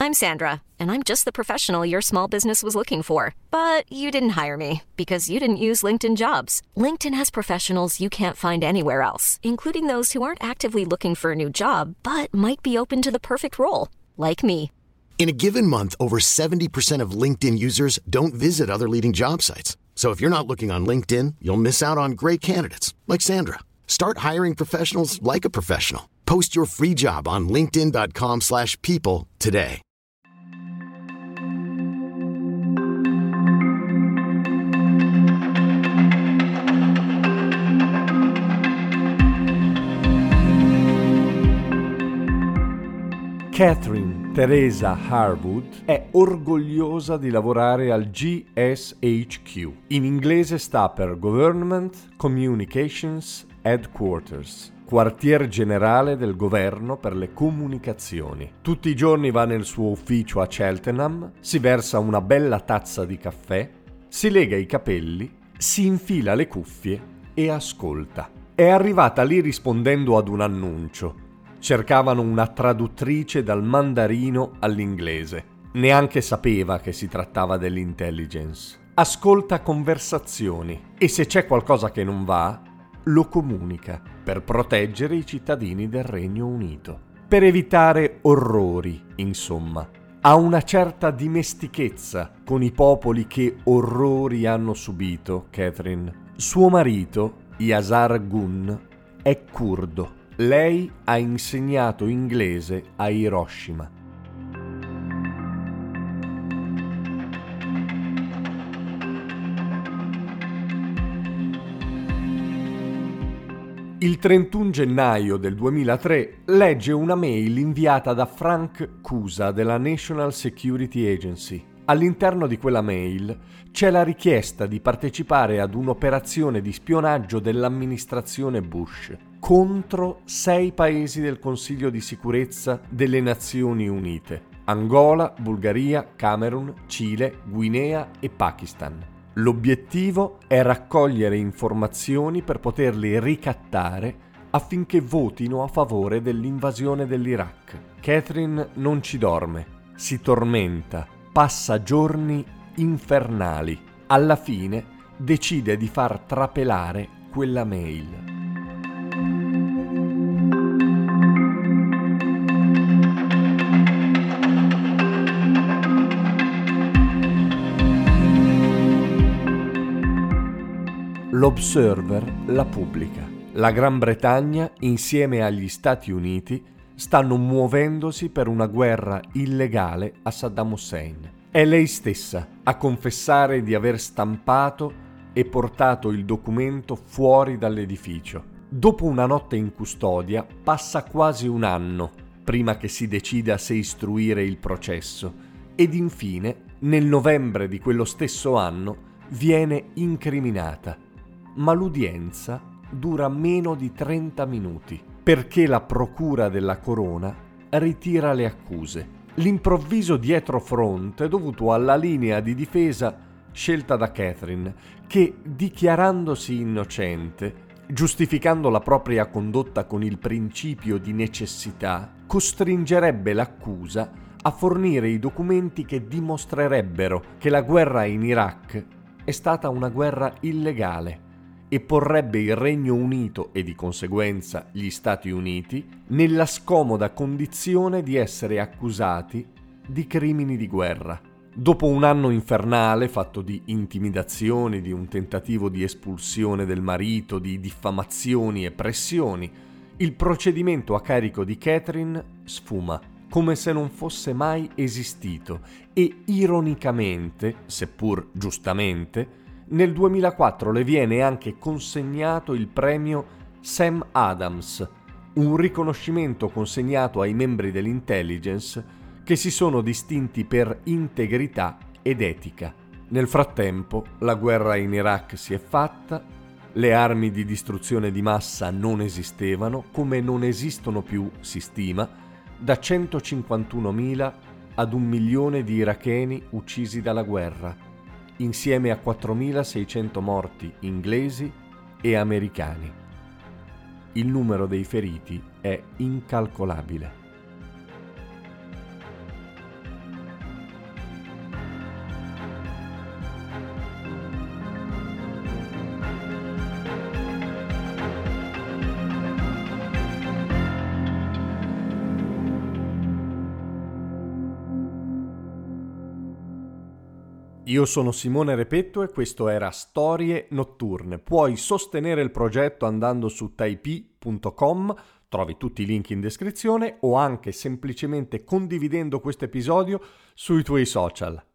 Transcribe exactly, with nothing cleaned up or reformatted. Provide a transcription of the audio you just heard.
I'm Sandra, and I'm just the professional your small business was looking for. But you didn't hire me because you didn't use LinkedIn Jobs. LinkedIn has professionals you can't find anywhere else, including those who aren't actively looking for a new job, but might be open to the perfect role, like me. In a given month, over seventy percent of LinkedIn users don't visit other leading job sites. So if you're not looking on LinkedIn, you'll miss out on great candidates like Sandra. Start hiring professionals like a professional. Post your free job on linkedin.com slash people today. Catherine Teresa Harwood è orgogliosa di lavorare al G S H Q. In inglese sta per Government Communications Headquarters, quartier generale del governo per le comunicazioni. Tutti i giorni va nel suo ufficio a Cheltenham, si versa una bella tazza di caffè, si lega i capelli, si infila le cuffie e ascolta. È arrivata lì rispondendo ad un annuncio. Cercavano una traduttrice dal mandarino all'inglese. Neanche sapeva che si trattava dell'intelligence. Ascolta conversazioni e se c'è qualcosa che non va, lo comunica per proteggere i cittadini del Regno Unito. Per evitare orrori, insomma. Ha una certa dimestichezza con i popoli che orrori hanno subito, Catherine. Suo marito, Yasar Gun, è curdo. Lei ha insegnato inglese a Hiroshima. Il trentuno gennaio del duemilatré legge una mail inviata da Frank Cusa della National Security Agency. All'interno di quella mail c'è la richiesta di partecipare ad un'operazione di spionaggio dell'amministrazione Bush contro sei paesi del Consiglio di sicurezza delle Nazioni Unite: Angola, Bulgaria, Camerun, Cile, Guinea e Pakistan. L'obiettivo è raccogliere informazioni per poterli ricattare affinché votino a favore dell'invasione dell'Iraq. Catherine non ci dorme, si tormenta, passa giorni infernali. Alla fine decide di far trapelare quella mail. L'Observer la pubblica. La Gran Bretagna, insieme agli Stati Uniti, stanno muovendosi per una guerra illegale a Saddam Hussein. È lei stessa a confessare di aver stampato e portato il documento fuori dall'edificio. Dopo una notte in custodia, passa quasi un anno prima che si decida se istruire il processo ed infine, nel novembre di quello stesso anno, viene incriminata. Ma l'udienza dura meno di trenta minuti perché la procura della corona ritira le accuse. L'improvviso dietrofront è dovuto alla linea di difesa scelta da Catherine, che, dichiarandosi innocente, giustificando la propria condotta con il principio di necessità, costringerebbe l'accusa a fornire i documenti che dimostrerebbero che la guerra in Iraq è stata una guerra illegale e porrebbe il Regno Unito e di conseguenza gli Stati Uniti nella scomoda condizione di essere accusati di crimini di guerra. Dopo un anno infernale fatto di intimidazioni, di un tentativo di espulsione del marito, di diffamazioni e pressioni, il procedimento a carico di Catherine sfuma, come se non fosse mai esistito e ironicamente, seppur giustamente, nel duemilaquattro le viene anche consegnato il premio Sam Adams, un riconoscimento consegnato ai membri dell'intelligence che si sono distinti per integrità ed etica. Nel frattempo, la guerra in Iraq si è fatta, le armi di distruzione di massa non esistevano, come non esistono più, si stima, da centocinquantunomila ad un milione di iracheni uccisi dalla guerra, insieme a quattromilaseicento morti inglesi e americani. Il numero dei feriti è incalcolabile. Io sono Simone Repetto e questo era Storie Notturne. Puoi sostenere il progetto andando su taipi punto com, trovi tutti i link in descrizione, o anche semplicemente condividendo questo episodio sui tuoi social.